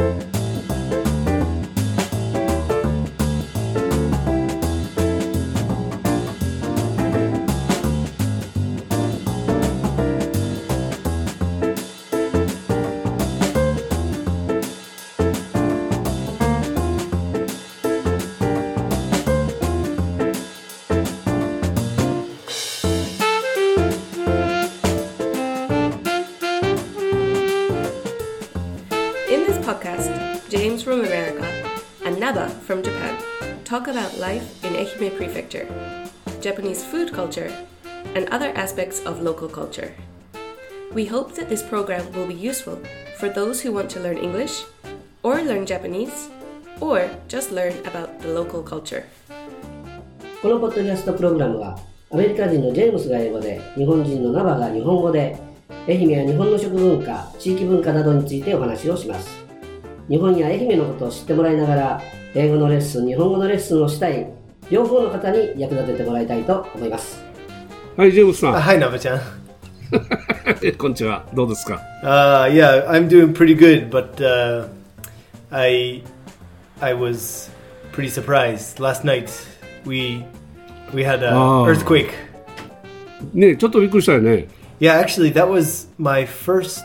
Podcast, James from America and Naba from Japan talk about life in Ehime Prefecture, Japanese food culture, and other aspects of local culture. We hope that this program will be useful for those who want to learn English, or learn Japanese, or just learn about the local culture. このポッドキャストプログラムはアメリカ人のジェームスが英語で、日本人のナバが日本語で、愛媛や日本の食文化、地域文化などについてお話をします。日本や愛媛のことを知ってもらいながら、英語のレッスン、日本語のレッスンをしたい両方の方に役立ててもらいたいと思います。 はい、ジェームスさん。 はい、ナバちゃん。 こんにちは。どうですか ？Yeah, I'm doing pretty good, but I was pretty surprised. Last night we had an earthquake. ね、ちょっとびっくりしたよね。 Yeah, actually, that was my first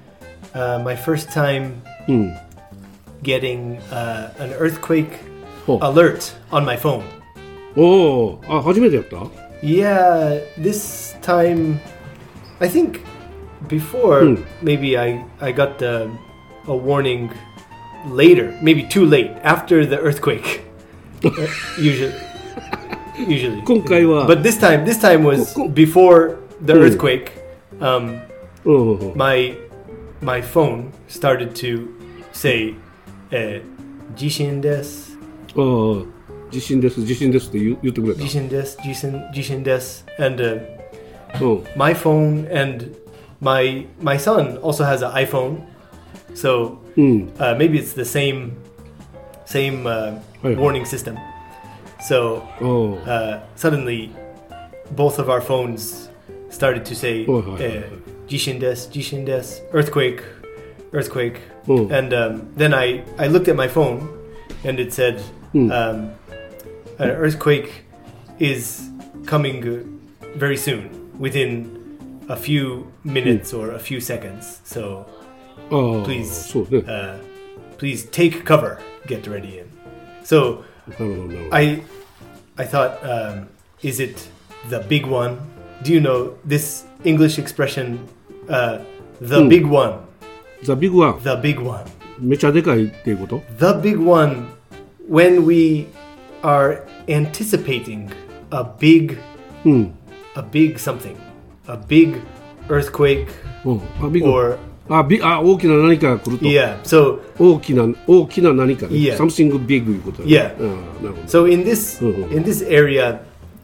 time、getting an earthquake alert on my phone. おお、あ、初めてやった？ Yeah, this time, I think before maybe I got a warning later, maybe too late after the earthquake. Usually. 今回は But this time was before the earthquake. My phone started to say 地震です。 地震ですって言ってくれた。 地震です。And my phone and my son also has an iPhone, so maybe it's the same warning system. So suddenly both of our phones started to say 地震です、earthquake, and then I looked at my phone and it said an earthquake is coming very soon, within a few minutes or a few seconds. So please take cover, get ready. And so I thought, is it the big one? Do you know this English expression, the big one? The big one? The big one. めちゃでかいっていうこと？ The big one, when we are anticipating a big something, a big earthquake or 大きな何かが来ると。 Yeah, so 大きな何かね。 Yeah. Something big いうことだね。 Yeah. なるほど。 So in this area,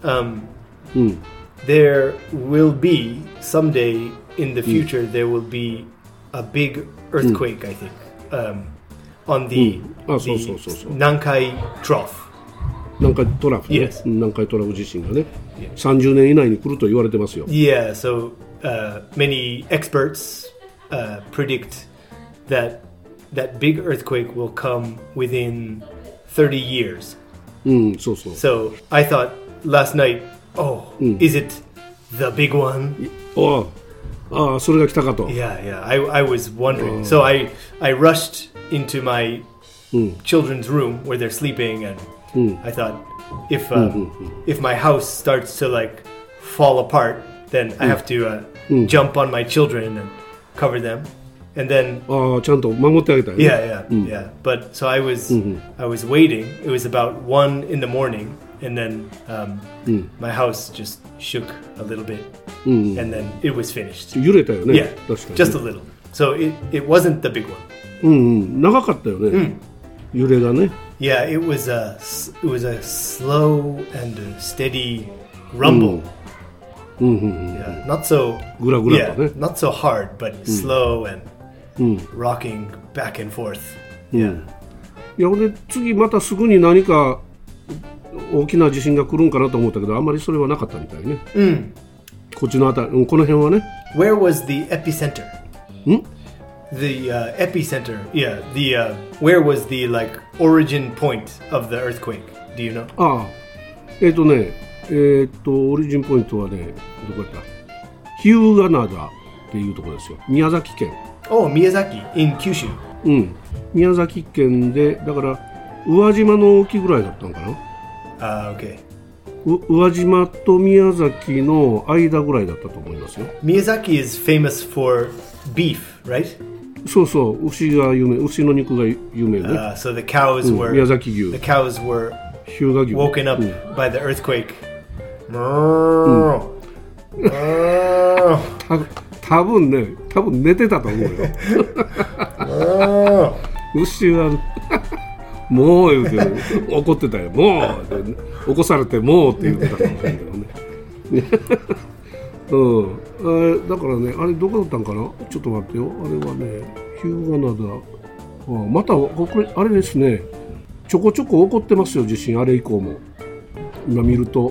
there will be someday in the future there will be a big earthquake, I think, on the Nankai Trough. 南海トラフね。 Yes. 南海トラフ地震がね、30年以内に来ると言われてますよ。 Yeah, so many experts predict that big earthquake will come within 30 years. そうそう。 So I thought last night, is it the big one? それが来たかと。 Yeah, I was wondering. So I rushed into my children's room where they're sleeping, and I thought, if my house starts to like fall apart, then I have to jump on my children and cover them, and then ちゃんと守ってあげたい、ね。 Yeah. But so I was waiting. It was about 1 in the morning, and then my house just shook a little bit, and then it was finished. 揺れたよね。 Yeah, 確かに。 just a little. So it wasn't the big one. 長かったよね。揺れがね。 Yeah, it was a slow and a steady rumble. Yeah, not so グラグラとね。 not so hard, but slow and rocking back and forth. Yeah. いや、俺次またすぐに何か大きな地震が来るんかなと思ったけど、あんまりそれはなかったみたいね。こっちのあたり、この辺はね。 Where was the epicenter? the epicenter, where was the like origin point of the earthquake? Do you know? オリジンポイントはね、どこやった？日向灘っていうところですよ。宮崎県。 Oh, Miyazaki in Kyushu. うん。宮崎県で、だから宇和島の沖ぐらいだったのかな。 Okay. 宇和島と宮崎の間ぐらいだったと思いますよ。 Miyazaki is famous for beef, right? そうそう、牛が有名、牛の肉が有名ね。 So the cows were 宮崎牛。 The cows were 日向牛 woken up by the earthquake. 多分寝てたと思うよ。牛はもう言うて怒ってたよ。もう起こされてもうって言ってたかもしれんけどね。だからね、あれどこだったんかな。ちょっと待ってよ。あれはね、日向灘。またこれあれですね。ちょこちょこ起こってますよ、地震。あれ以降も今見ると、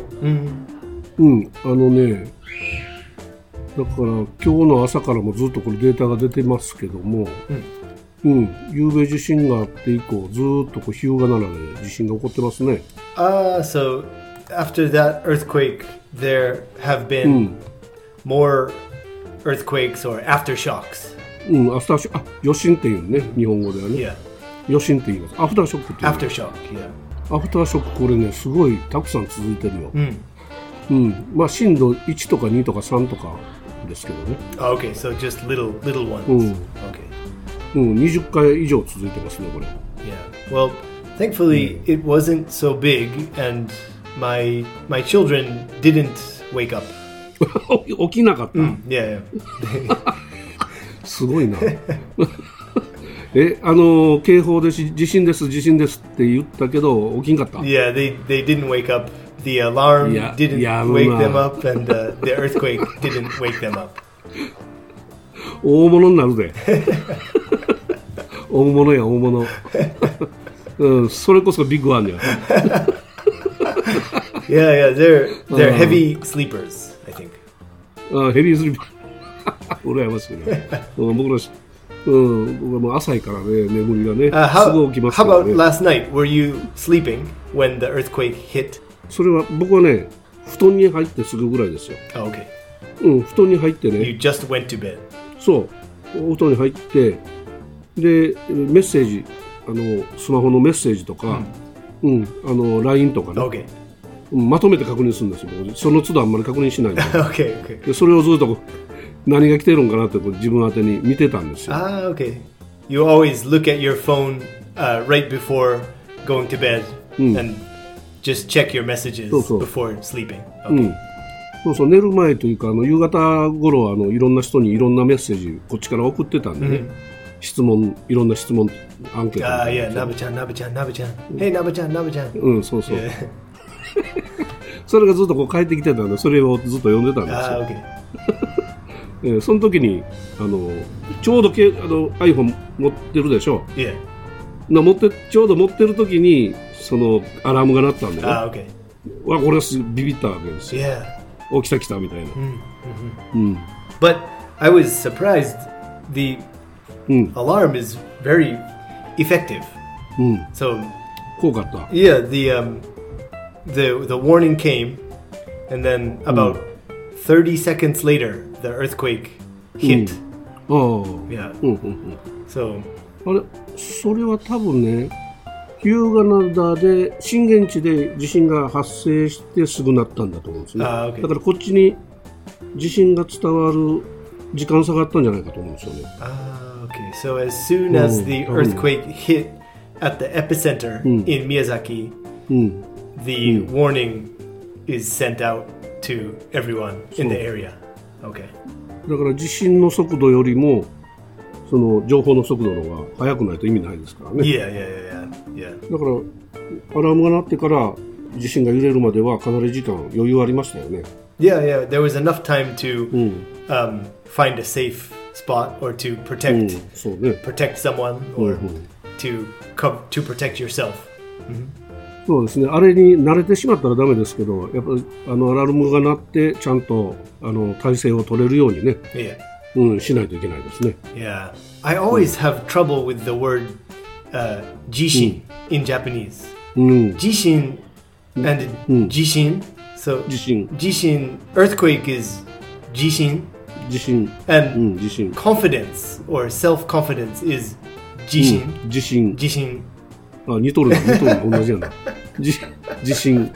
だから今日の朝からもずっとこれデータが出てますけども、夕べ地震があって以降ずっとこう日向灘で地震が起こってますね。 So after that earthquake there have been more earthquakes or aftershocks. アフターショック、余震っていうね、日本語ではね。余震って言います。アフターショックって言う。 アフターショック、 アフターショック、これね、すごいたくさん続いてるよ。まあ震度1とか2とか3とかですけどね。 Okay, so just little ones. Okay. 20回以上続いてますね、これ。 Yeah. Well, thankfully it wasn't so big, and my children didn't wake up. 起きなかった。 Yeah. すごいな。警報で地震ですって言ったけど起きんかった。 Yeah, they didn't wake up. The alarm didn't wake them up, and the earthquake didn't wake them up. 大物になるで。大物や大物。それこそビッグワンや。 Yeah, they're heavy sleepers, I think. ヘビースリーパー。羨ましいね。僕はもう浅いからね、眠りがね、すぐ起きますからね。 How about last night? Were you sleeping when the earthquake hit? それは僕はね、布団に入ってすぐぐらいですよ。 Okay. 布団に入ってね。 You just went to bed. そう、お布団に入って、で、メッセージ、スマホのメッセージとか、LINE とかね、 okay. まとめて確認するんですよ。その都度あんまり確認しないんで。 okay. でそれをずっと何が来てるんかなって自分宛てに見てたんですよ。 Okay. You always look at your phone right before going to bed and just check your messages before sleeping. Okay. そうそう、寝る前というか夕方頃いろんな人にいろんなメッセージこっちから送ってたんでね。いろんな質問アンケート。 Yeah, ナブちゃん。Hey, ナブちゃん。 そうそう。それがずっとこう帰ってきてたんで、それをずっと読んでたんですよ。その時にちょうどiPhone 持ってるでしょ。 Yeah. ちょうど持ってる時にそのアラームが鳴ったんでね。 Okay. わ、これはビビったわけですよ。 Yeah. 来たみたいな。 But I was surprised. The alarm is very effective. So 効果あった。 Yeah, the warning came, and then about 30 seconds later, the earthquake hit. Yeah. So あれ、それは多分ね、日向灘で震源地で地震が発生してすぐなったんだと思うんですね。 Okay. だからこっちに地震が伝わる時間差があったんじゃないかと思うんですよね。 Okay. So as soon as the earthquake hit at the epicenter in Miyazaki, the warning is sent out to everyone in the area. Okay. だから地震の速度よりもその情報の速度の方が速くないと意味ないですからね。 Yeah. だからアラームが鳴ってから地震が揺れるまではかなり時間余裕ありましたよね。 Yeah. There was enough time to find a safe spot or to protect someone or to protect yourself. そうですね。あれに慣れてしまったらダメですけど、やっぱりアラームが鳴ってちゃんと体勢を取れるようにね。 しないといけないですね。 Yeah. I always have trouble with the word jishin in Japanese. Jishin and jishin. So 地震 jishin, earthquake is jishin. 地震 And 地震 confidence or self-confidence is jishin. 地震 Jishin. あ、似とる同じやな。地震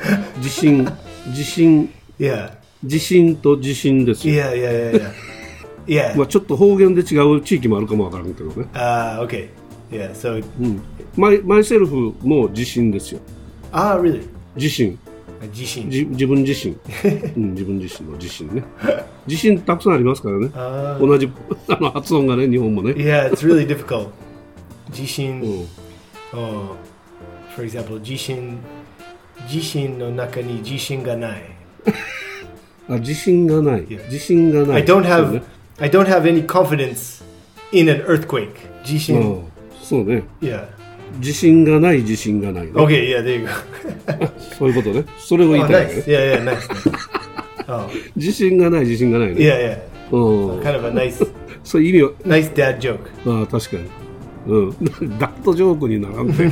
Yeah. 地震と地震ですよ。 Yeah. Yeah. まあちょっと方言で違う地域もあるかもわからんけどね。 Okay. Yeah. So. マイセルフも地震ですよ。 Really? 地震 Jishin. 自分自身、自分自身の地震ね。地震たくさんありますからね。同じ発音がね、日本もね。 Yeah, it's really difficult. Jishin. Oh, for example, jishin no naka ni jishin ga nai. あ、自信がない。 Yeah. 自信がない。 I don't have any confidence in an earthquake. Jishin. そうね。 Yeah. 自信がない、自信がない、ね。 Okay, yeah, there you go. そういうことね。それを言い Oh, たい、ね。 nice. Yeah, nice. Oh, 自信がない、自信がないね。 yeah. うん。 Kind of a nice そういう意味は、 nice dad joke. ああ、確かに。ダットジョークにならんて。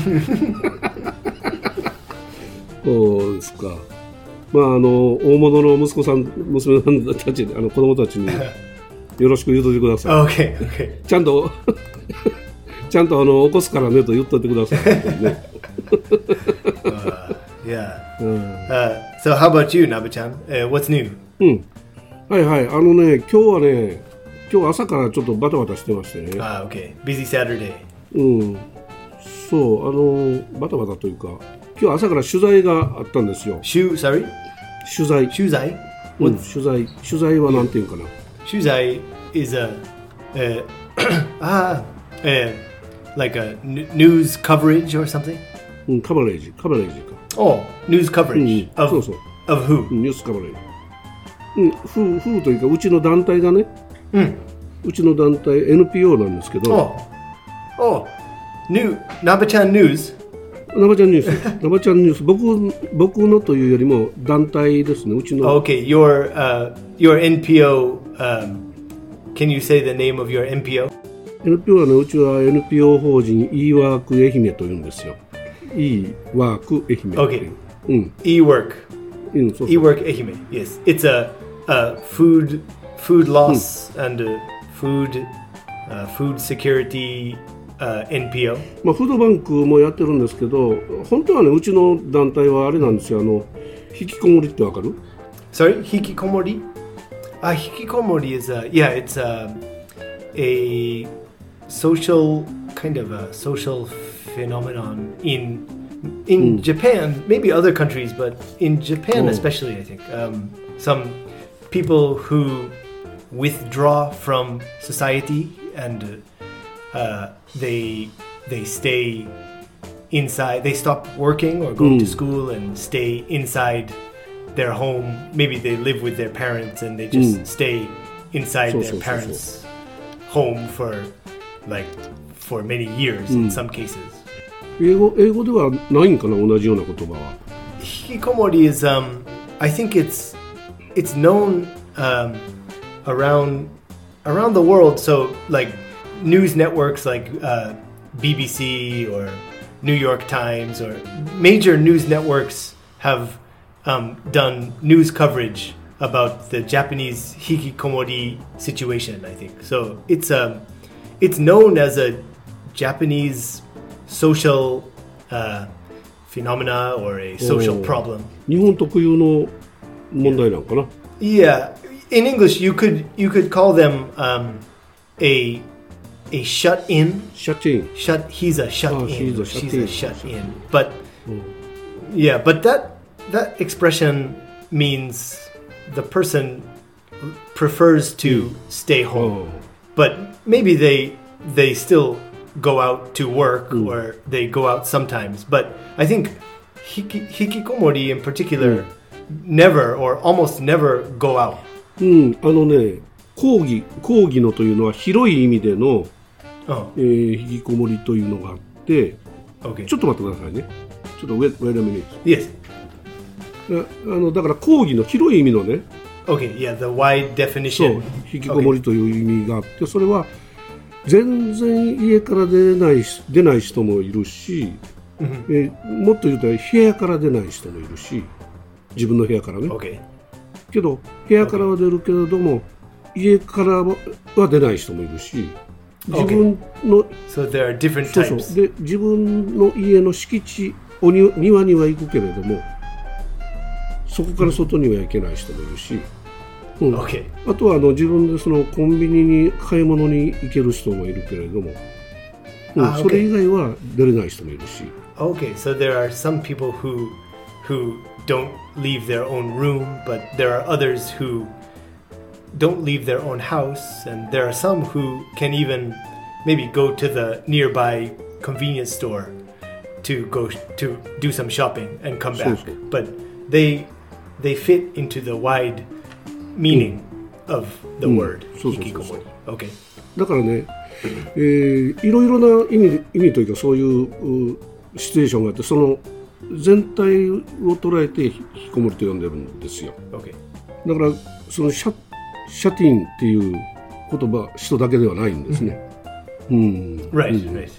そうですか。まあ、大物の息子さん、娘さんたち、子供たちに、よろしく言うといてください。 Okay. ちゃんと起こすからねと言っといてください、ね。 Yeah. So how about you, Nabu-chan? What's new? はいはい。今日朝からちょっとバタバタしてましてね。 Okay. Busy Saturday. そう、バタバタというか、今日朝から取材があったんですよ。 Sorry? 取材。 Shuzai? 取材はなんていうかな。 Shuzai is like a news coverage or something? カバレージか。 Oh, news coverage そうそう。 of who? ニュースカバレージ。風というか、うちの団体がね、うちの団体 NPO なんですけど、 Nabu-chan News? ナバちゃんニュース、僕のというよりも団体ですね、うちの。 Okay, your NPO, can you say the name of your NPO? NPO はね、うちは NPO 法人 e-work 愛媛というんですよ。e-work 愛媛。 Okay. E-work. そう。 E-work Ehime. Yes. It's a food loss and food security NPO. まあフードバンクもやってるんですけど、本当はね、うちの団体はあれなんですよ。引きこもりってわかる？ Sorry, hikikomori? Hikikomori is it's a social kind of a social phenomenon in Japan, maybe other countries, but in Japan especially, I think some people who withdraw from society and they stay inside. They stop working or going to school and stay inside their home. Maybe they live with their parents and they just stay inside their parents' home for many years in some cases. 英語ではないんかな、同じような言葉は。 Hikikomori is I think it's known around the world. So like news networks like BBC or New York Times or major news networks have done news coverage about the Japanese hikikomori situation, I think. So it's known as a Japanese social phenomena or a social problem. 日本特有の問題なのかな。 Yeah, in English you could call them a shut in. Shut in. He's a shut in. She's a shut in. But yeah, but that expression means the person prefers to stay home. But maybe they still go out to work or they go out sometimes. But I think hikikomori in particular never or almost never go out. 講義のというのは広い意味での、引きこもりというのがあって、ちょっと待ってくださいね。ちょっとwait a minute. Yes. だから講義の広い意味のね、 Okay, yeah, the wide そう definition. 引きこもりという意味があって、それは全然家から出ない人もいるし、もっと言うと部屋から出ない人もいるし、自分の部屋からね、 Okay. けど部屋からは出るけれども、家からは出ない人もいるし、自分の、 So there are different そうそう types. で自分の家の敷地庭には行くけれども、そこから外には行けない人もいるし、 Okay. あとは自分でそのコンビニに買い物に行ける人もいるけれども、 okay. それ以外は出れない人もいるし。 Okay, so there are some people who don't leave their own room, but there are others who don't leave their own house, and there are some who can even maybe go to the nearby convenience store to go to do some shopping and come back. So. But they fit into the wide meaning of the word そうそうそうそう。 hikikomori. Okay. だからね、いろいろな意味というか、そういうシチュエーションがあって、その全体を捉えて引きこもりと呼んでるんですよ。 Okay. だからそのシャティンっていう言葉、人だけではないんですね。 Right, right.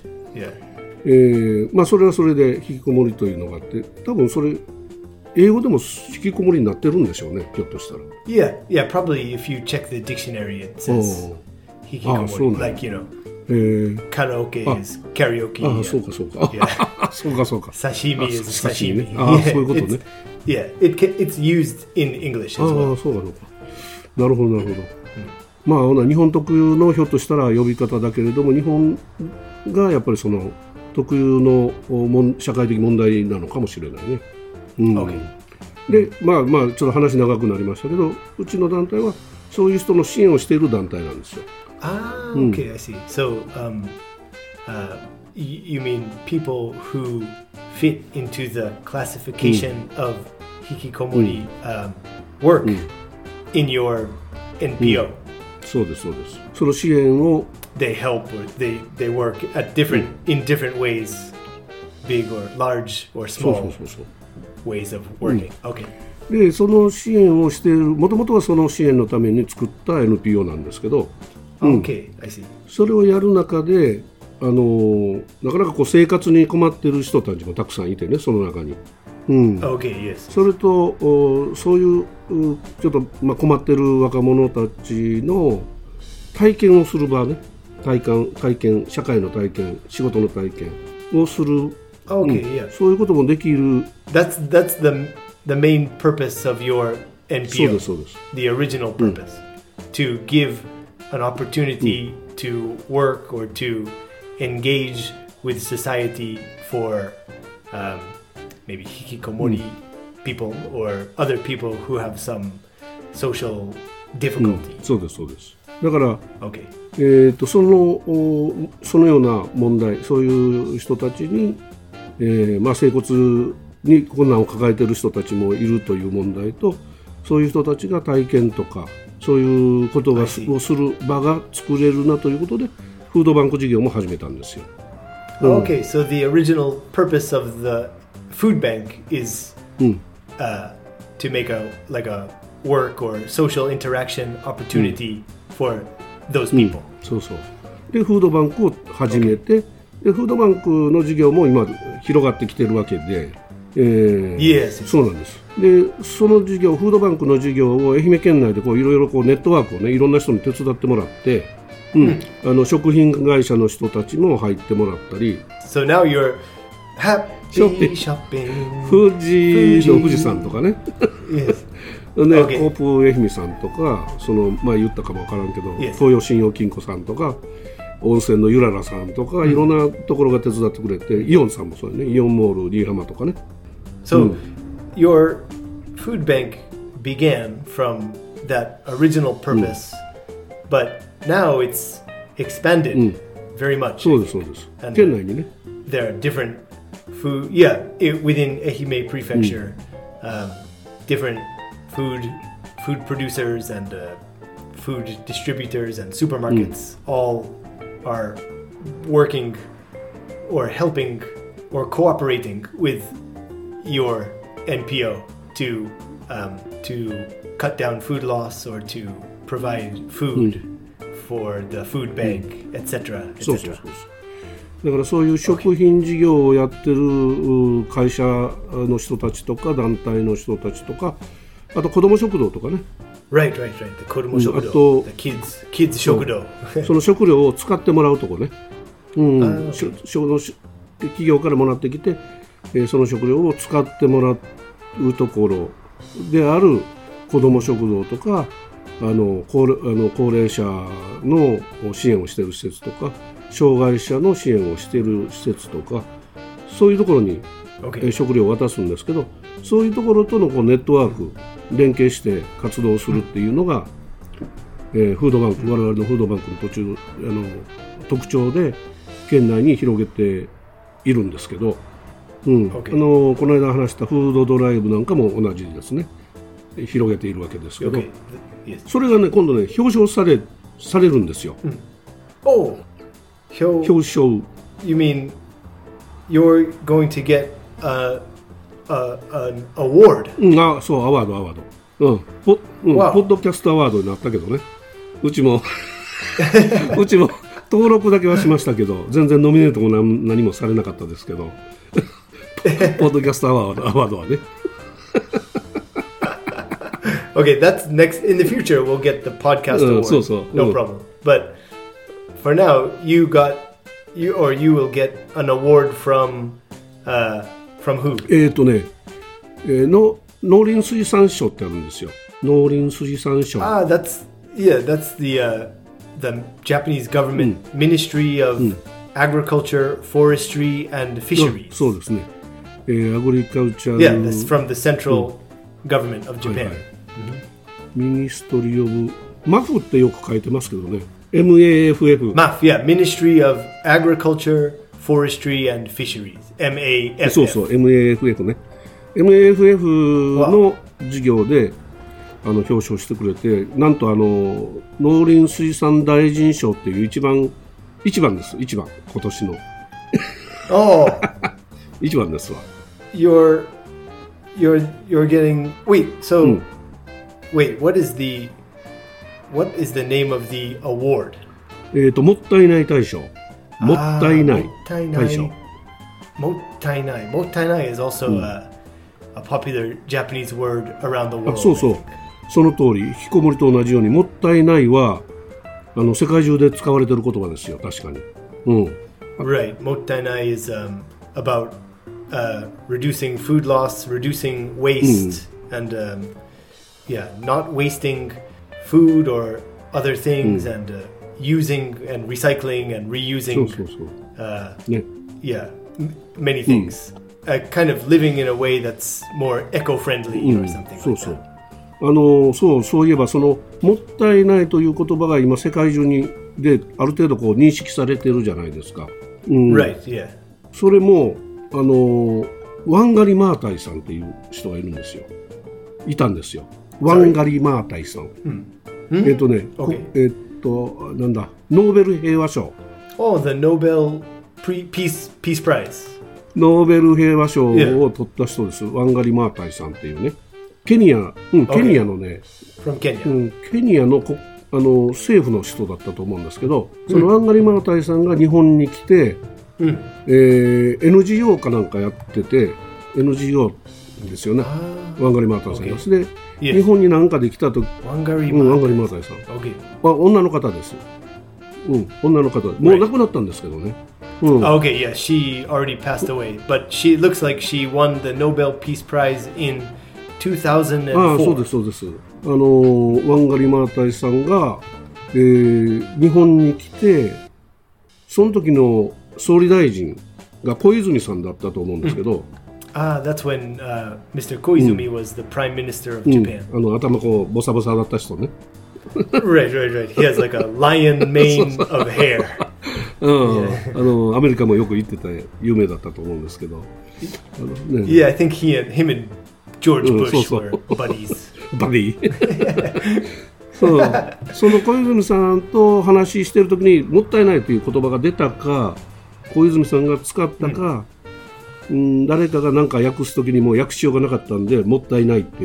Yeah. まあそれはそれで引きこもりというのがあって、多分それ英語でも引きこもりになってるんでしょうね、ひょっとしたら。 Yeah, probably if you check the dictionary it says hikikomori, like, you know, karaoke is karaoke. そうかそうか。 Yeah. そうかそうか。 Sashimi is 刺身 sashimi. ね。そういうことね。 Yeah, it's used in English as well. そうかそうか。なるほどなるほど。まあ日本特有のひょっとしたら呼び方だけれども、日本がやっぱりその特有の社会的問題なのかもしれないね。 Okay. でまあちょっと話長くなりましたけど、うちの団体はそういう人の支援をしている団体なんですよ。 Okay, I see. So, you mean people who fit into the classification of hikikomori work in your NPO? そうですそうです。その支援を They help or they work at in different ways, big or large or そう small そうそう。 ways of working. Okay. でその支援をしている、もともとはその支援のために作った NPO なんですけど、 Okay, I see. それをやる中でなかなかこう生活に困っている人たちもたくさんいてね、その中に。 Okay, yes. それとそういうちょっと困っている若者たちの体験をする場ね、体験、社会の体験、仕事の体験をする、 Okay, yeah. そういうこともできる。 That's the main purpose of your そう NPO. ですそうです。 The original purpose, to give an opportunity to work or to engage with society for maybe hikikomori people or other people who have some social difficulty. そうですそうです。だから、 Okay. そのような問題、そういう人たちに、生活に困難を抱えている人たちもいるという問題と、そういう人たちが体験とかそういうことをする場が作れるなということで、フードバンク事業も始めたんですよ。 Okay, so the original purpose of the food bank is to make a work or social interaction opportunity for those people. そうそう。でフードバンクを始めて、でフードバンクの事業も今広がってきてるわけで、 Yes. そうなんです。でその事業、フードバンクの事業を愛媛県内でいろいろネットワークをね、いろんな人に手伝ってもらって、食品会社の人たちも入ってもらったり。 So now you're happy shopping. 富士山とかね。 Yes. ね、 Okay. コープ愛媛さんとか、言ったかもわからんけど、 Yes. 東洋信用金庫さんとか、温泉のゆららさんとか、いろんなところが手伝ってくれて、イオンさんもそうよね、イオンモール、リーハマとかね。 So your food bank began from that original purpose, but now it's expanded very much. そうですそうです。 And 県内にね。 there are different food, within Ehime Prefecture, different food producers and food distributors and supermarkets all are working or helping or cooperating with your NPO to to cut down food loss or to provide food for the food bank, etc. そうそうそう。だからそういう食品事業をやってる会社の人たちとか団体の人たちとか、あと子ども食堂とかね。 Right. The 子ども食堂。 あと the kids 食堂。 その食料を使ってもらうとこね。企業からもらってきて、その食料を使ってもらうところである子ども食堂とか、高齢者の支援をしている施設とか、障害者の支援をしている施設とか、そういうところに、食料を渡すんですけど、そういうところとのネットワーク連携して活動するっていうのが、フードバンク、我々のフードバンクの特徴で県内に広げているんですけど、この間話したフードドライブなんかも同じですね、広げているわけですけど、それがね今度ね表彰されるんですよ。表彰。 You mean you're going to get an award? そう、アワード。ポッドキャストアワードになったけどね。うちも登録だけはしましたけど、全然ノミネートも何もされなかったですけど、ポッドキャストアワードはね。 Okay, that's next. In the future, we'll get the podcast award. No problem. But for now, you will get an award from who? 農林水産省ってあるんですよ。農林水産省。 That's the Japanese government Ministry of Agriculture, Forestry and Fisheries. そうですね。アグリカルチャー。 Yeah, that's from the central government of Japan. ミニストリーオブマフってよく書いてますけどね。MAFF。 MAF, Ministry of Agriculture, Forestry and Fisheries. MAFF. そう、MAFF ね。MAFF の事業で表彰してくれて、なんと農林水産大臣賞っていう一番です。今年の。一番ですわ。 You're getting wait, what is the name of the award? もったいない大賞。もったいない大賞。 もったいない is also a popular Japanese word around the world. そう。その通り、引きこもりと同じようにもったいないは世界中で使われている言葉ですよ。確かに。 Right. もったいない is about reducing food loss, reducing waste, and not wasting food or other things, and using and recycling and reusing. Many things. Kind of living in a way that's more eco-friendly or something like that. そういえばもったいないという言葉が今世界中である程度認識されてるじゃないですか。 Right, yeah. それもワンガリ・マータイさんっていう人がいるんですよ。いたんですよ。ワンガリ・マータイさん。なんだ、ノーベル平和賞。 The Nobel Peace Prize. ノーベル平和賞を取った人です。ワンガリ・マータイさんっていうね。ケニアのね、ケニアの政府の人だったと思うんですけど、そのワンガリ・マータイさんが日本に来て、NGO かなんかやってて、NGO ですよね。ワンガリ・マータイさんです。で、日本になんかで来たとき、ワンガリ・マータイさん。女の方です。女の方。もう亡くなったんですけどね。 Okay, yeah, she already passed away, but she looks like she won the Nobel Peace Prize in 2004. そうです。ワンガリ・マータイさんが、日本に来て、その時の総理大臣が小泉さんだったと思うんですけど、 that's when Mr. Koizumi was the Prime Minister of Japan. 頭ボサボサだった人ね。 Right. He has like a lion mane of hair. アメリカもよく行ってて有名だったと思うんですけど。 Yeah, I think him and George Bush were buddies. バディ。その小泉さんと話してるときにもったいないという言葉が出たか、小泉さんが使ったか、誰かが何か訳すときにも訳しようがなかったんでもったいないって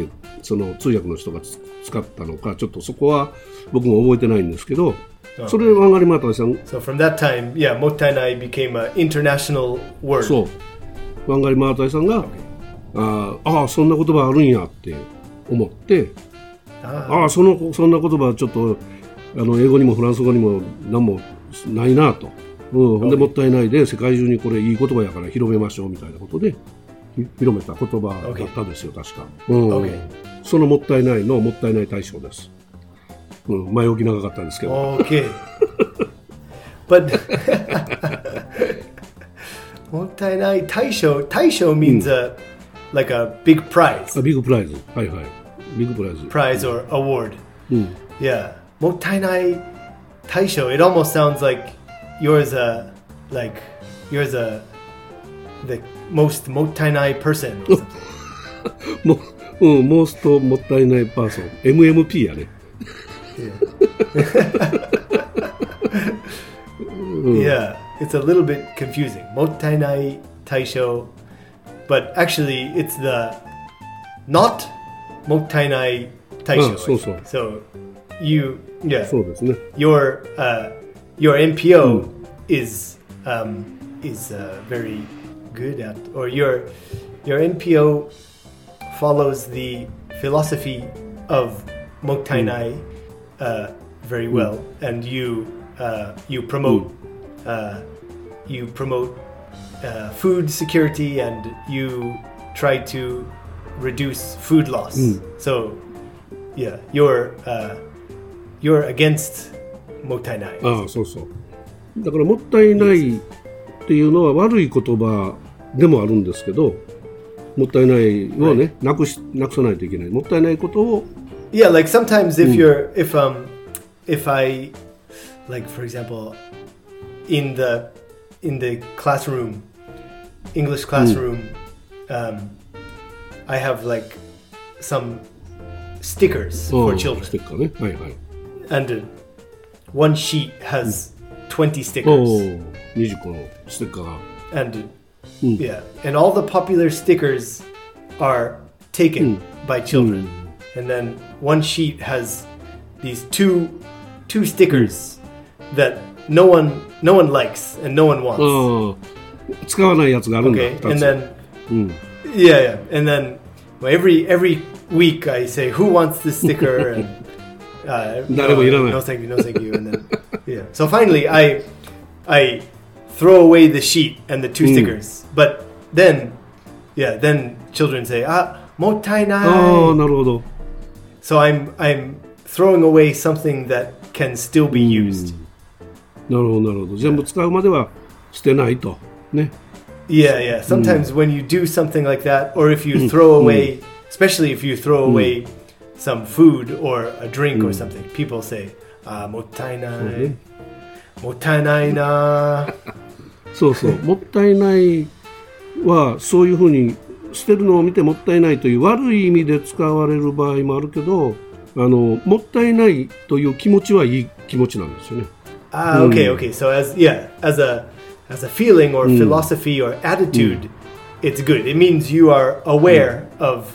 その通訳の人が使ったのかちょっとそこは僕も覚えてないんですけど、それでワンガリマータイさん So from that time, yeah, もったいない became an international word. そうワンガリマータイさんが、そんな言葉あるんやって思って、そんな言葉ちょっと英語にもフランス語にも何もないなと、でもったいないで世界中にこれいい言葉やから広めましょうみたいなことで広めた言葉だったんですよ、確か、そのもったいないのもったいない大賞です、前置き長かったんですけど、 Okay. But もったいない大賞 means like a big prize. ビッグプライズ、はいはい、ビッグプライズ Prize or award. Yeah. もったいない大賞 It almost sounds like you're the most もったいない person. モーストもったいないパーソン MMP やね。 Yeah, it's a little bit confusing. もったいない大賞 But actually, it's the not もったいない大賞. So you, yeah. そうですね。 Your NPO is very good at, or your NPO follows the philosophy of もったいない very well, and you promote food security, and you try to reduce food loss. So, yeah, you're against もったいない。 そうそう。だからもったいないっていうのは悪い言葉でもあるんですけど、もったいないをね、なくさないといけない。もったいないことを。 Yeah, like sometimes if I, like for example, in the classroom, English classroom, I have like some stickers for children. ステッカーね。はいはい。 And one sheet has 20 stickers. 20個のステッカーが。 And yeah, and all the popular stickers are taken by children. And then one sheet has these two stickers that no one likes and no one wants. 使わないやつがあるんだ。 Okay, and then yeah, and then every week I say who wants this sticker and no thank you, and then yeah. So finally I throw away the sheet and the two stickers. But then children say もったいない。 なるほど。 So I'm throwing away something that can still be used. なるほどなるほど。全部使うまでは捨てないとね。 Yeah. Sometimes when you do something like that, or if you throw away, especially if you throw away some food or a drink or something, people say, もったいない。もったいないな。 そうそう。もったいないはそういうふうに捨てるのを見てもったいないという悪い意味で使われる場合もあるけど、もったいないという気持ちはいい気持ちなんですよね。 Okay. So as a feeling or philosophy or attitude, it's good. It means you are aware of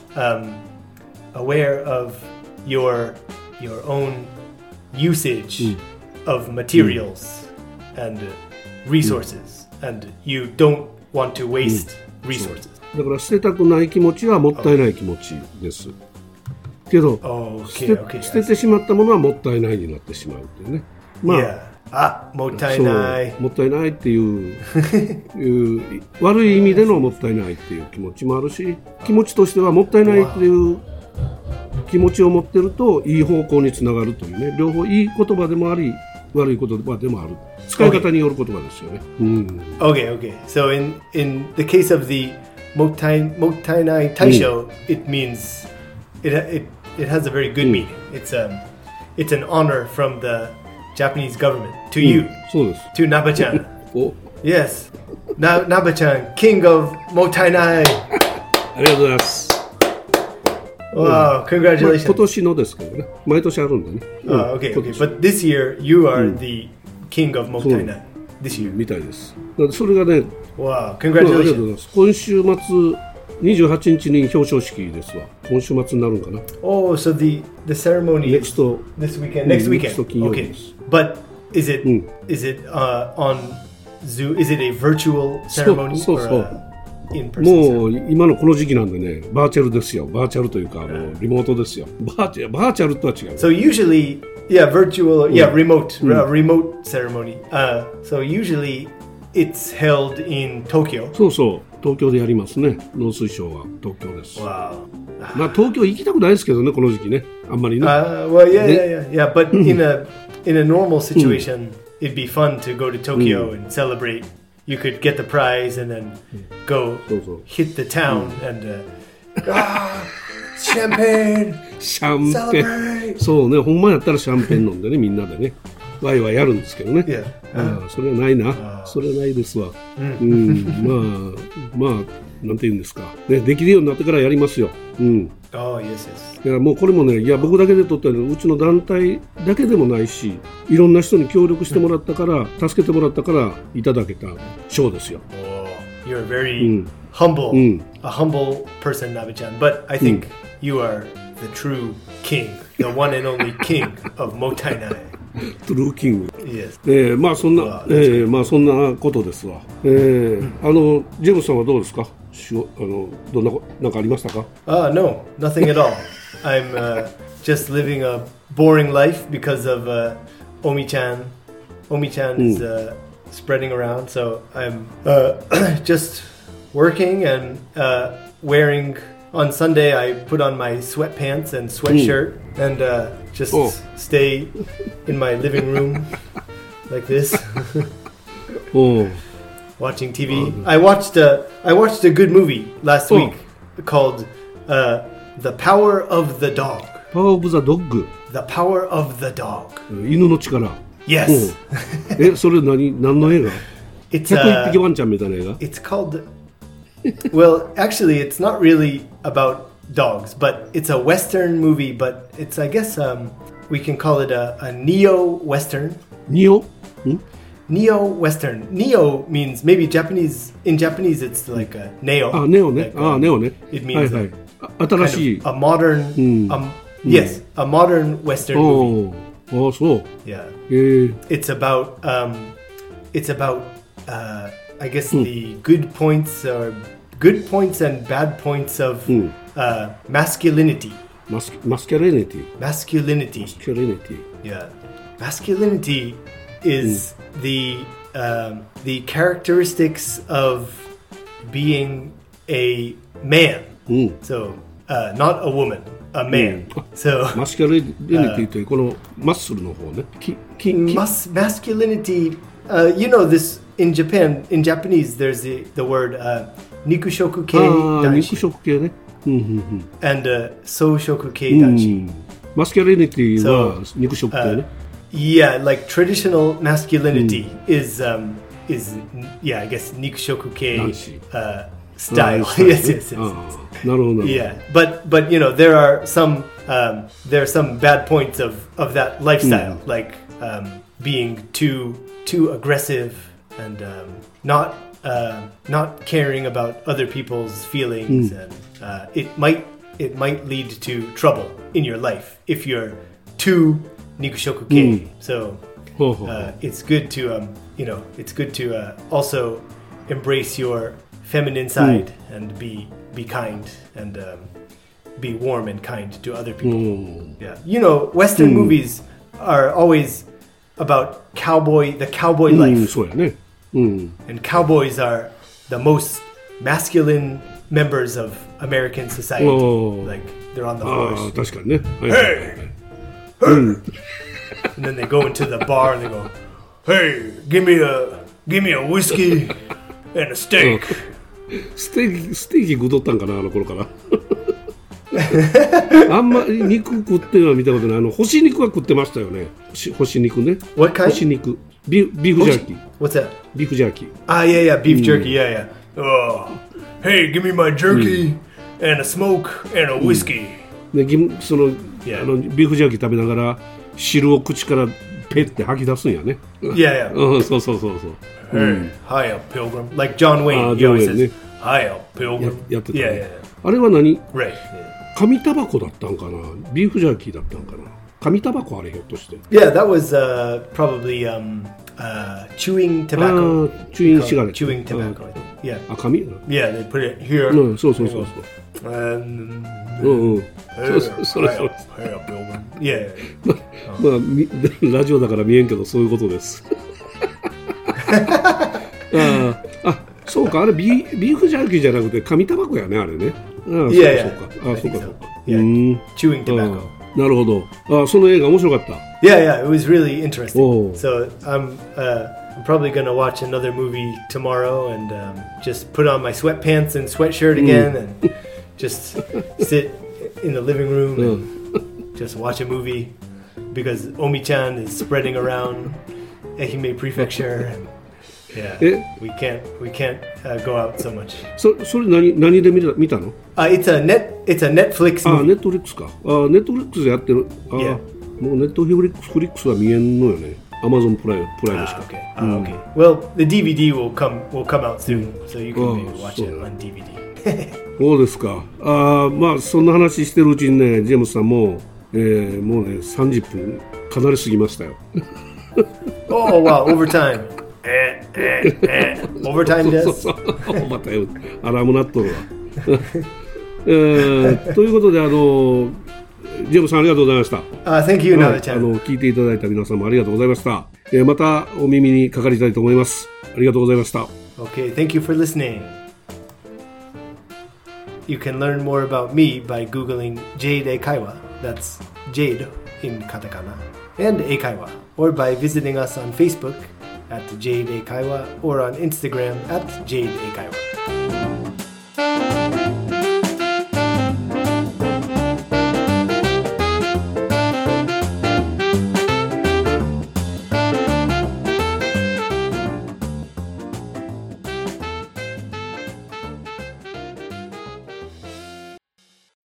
your own usage of materials and resources, and you don't want to waste resources. だから捨てたくない気持ちはもったいない気持ちです。けど、捨ててしまったものはもったいないになってしまうっていうね。 もったいない。 もったいないっていう悪い意味でのもったいないっていう気持ちもあるし、気持ちとしてはもったいないっていう気持ちを持ってるといい方向につながるというね、両方いい言葉でもあり悪い言葉でもある、使い方による言葉ですよね。 Okay. So in the case of the もったいない大賞, it means it has a very good meaning. It's an honor from the Japanese government to you, そうです。 to Naba-chan. Yes, Naba-chan, king of もったいない。 ありがとうございます。 Wow, congratulations. 今年のですけどね、毎年あるんだね。 Okay. But this year you are the king of もったいない。This year. みたいです。それがね、 Wow, ありがとうござい congratulations. ます。今週末28日に表彰式ですわ。 今週末になるんかな。 Oh, so the ceremony Next is this weekend. Next weekend. Okay. But is it on Zoom? Is it a virtual ceremony or in-person もう今のこの時期なんでね、バーチャルですよ。バーチャルというかリモートですよ。バーチャルとは違う。 So usually, virtual, remote ceremony. So usually it's held in Tokyo. そうそう、東京でやりますね。農水省は東京です。 Wow. まあ東京行きたくないですけどね、この時期ね、あんまりね。 Well, yeah. But in a normal situation, it'd be fun to go to Tokyo and celebrate. You could get the prize and then go hit the town and champagne. シャンペン。そうね、ほんまやったらシャンペン飲んでね、みんなでね、ワイワイやるんですけどね。それはないな。それはないですわ。まあなんて言うんですか。ね、できるようになってからやりますよ。 Oh, yes. いやもうこれもね、いや僕だけで撮ったのうちの団体だけでもないし、いろんな人に協力してもらったから、助けてもらったからいただけた賞ですよ。 Oh, you're very humble, a humble person, Nabe-chan. But I think you are the true king, the one and only king of Motainai. トゥルーキング。 Yes. まあそんなことですわ。ジェームスさんはどうですか？どんななんかありましたか ？No, nothing at all. I'm just living a boring life because of Omi-chan. Omi-chan is spreading around, so I'm just working and wearing. On Sunday, I put on my sweatpants and sweatshirt and just stay in my living room like this, watching TV. I watched a good movie last week called The Power of the Dog. Power of the Dog. The Power of the Dog. 犬の力。 Yes. それ何の映画？101匹ワンちゃんみたいな映画？ It's called...Well, actually, it's not really about dogs, but it's a Western movie, but it's, I guess, we can call it a neo-Western. Neo? Neo-Western. Neo means maybe Japanese, in Japanese it's like a neo. Neo ね。Neo ね。 It means 新しい。 a modern, yes, a modern Western movie. そう。 Yeah. It's about, I guess the good points and bad points of masculinity. Masculinity. Yeah. Masculinity is the characteristics of being a man. So not a woman, a man. So masculinity というこのマッスルの方ね。 Masculinity, you know this.In Japan, in Japanese, there's the word nikushoku kei danshi. 肉食系ね。 And soushoku kei danshi. Masculinity は肉食系ね。 Yeah, like traditional masculinity is I guess nikushoku kei style. Yes. なるほど。 Yeah, but you know there are some bad points of that lifestyle, like being too aggressive.And not caring about other people's feelings, and it might lead to trouble in your life if you're too nikushoku kei. So it's good to also embrace your feminine side and be kind and be warm and kind to other people. Yeah, you know, Western movies are always.About the cowboy life. そうやね。 And cowboys are the most masculine members of American society. Like they're on the horse. 確かにね。 Hey! And then they go into the bar and they go, "Hey, give me a whiskey and a steak." ステーキ食うとったんかなあの頃から。あんまり肉食っては見たことない。干し肉は食ってましたよね。干し肉ね。 What kind? 干し肉。ビーフジャーキー。 What's that? ビーフジャーキー。 Yeah, beef jerky. Yeah. Oh, hey, give me my jerky and a smoke and a whiskey. で、そのビーフジャーキー食べながら汁を口からペッて吐き出すんやね。 Yeah. そう。 Hey, hiya, pilgrim. Like John Wayne. He always says, "Hiya, pilgrim." やってたね。 Yeah. あれは何？ Right. 紙タバコだったんかな、ビーフジャーキーだったんかな、紙タバコあれひょっとして。 Yeah, that was probably chewing tobacco. Chewing cigarette. Chewing tobacco. Yeah. あ、紙 Yeah, they put it here. うん、そうそうそうそう。うんうん。それ。 Yeah. まあ、ラジオだから見えんけどそういうことです。そうか、あれビーフジャーキーじゃなくて紙タバコやね、あれね。そうか。そうか。 Chewing tobacco. なるほど。その映画面白かった。 Yeah, it was really interesting. So I'm probably going to watch another movie tomorrow and just put on my sweatpants and sweatshirt again and just sit in the living room and just watch a movie because Omi-chan is spreading around Ehime Prefecture and we can't go out so much. それ何で見たの ？It's a Netflix movie. ネットフリックスか。ネットフリックスでやってる。もうネットフリックスは見えんのよね。Amazon プライムしか。 Okay. Well, the DVD will come out soon, so you can maybe watch it on DVD. そうですか。まあそんな話してるうちにね、ジェームスさんももうね30分かなり過ぎましたよ。 Oh wow, overtime. Overtime です。 またアラーム鳴っとるわ。ということでジェームさんありがとうございました。 Thank you, Nava-chan. 聞いていただいた皆さんもありがとうございました。またお耳にかかりたいと思います。ありがとうございました。 Okay, thank you for listening. You can learn more about me by googling Jade Eikaiwa. That's Jade in katakana and Eikaiwa, or by visiting us on Facebook at Jade Eikaiwa or on Instagram at Jade Eikaiwa.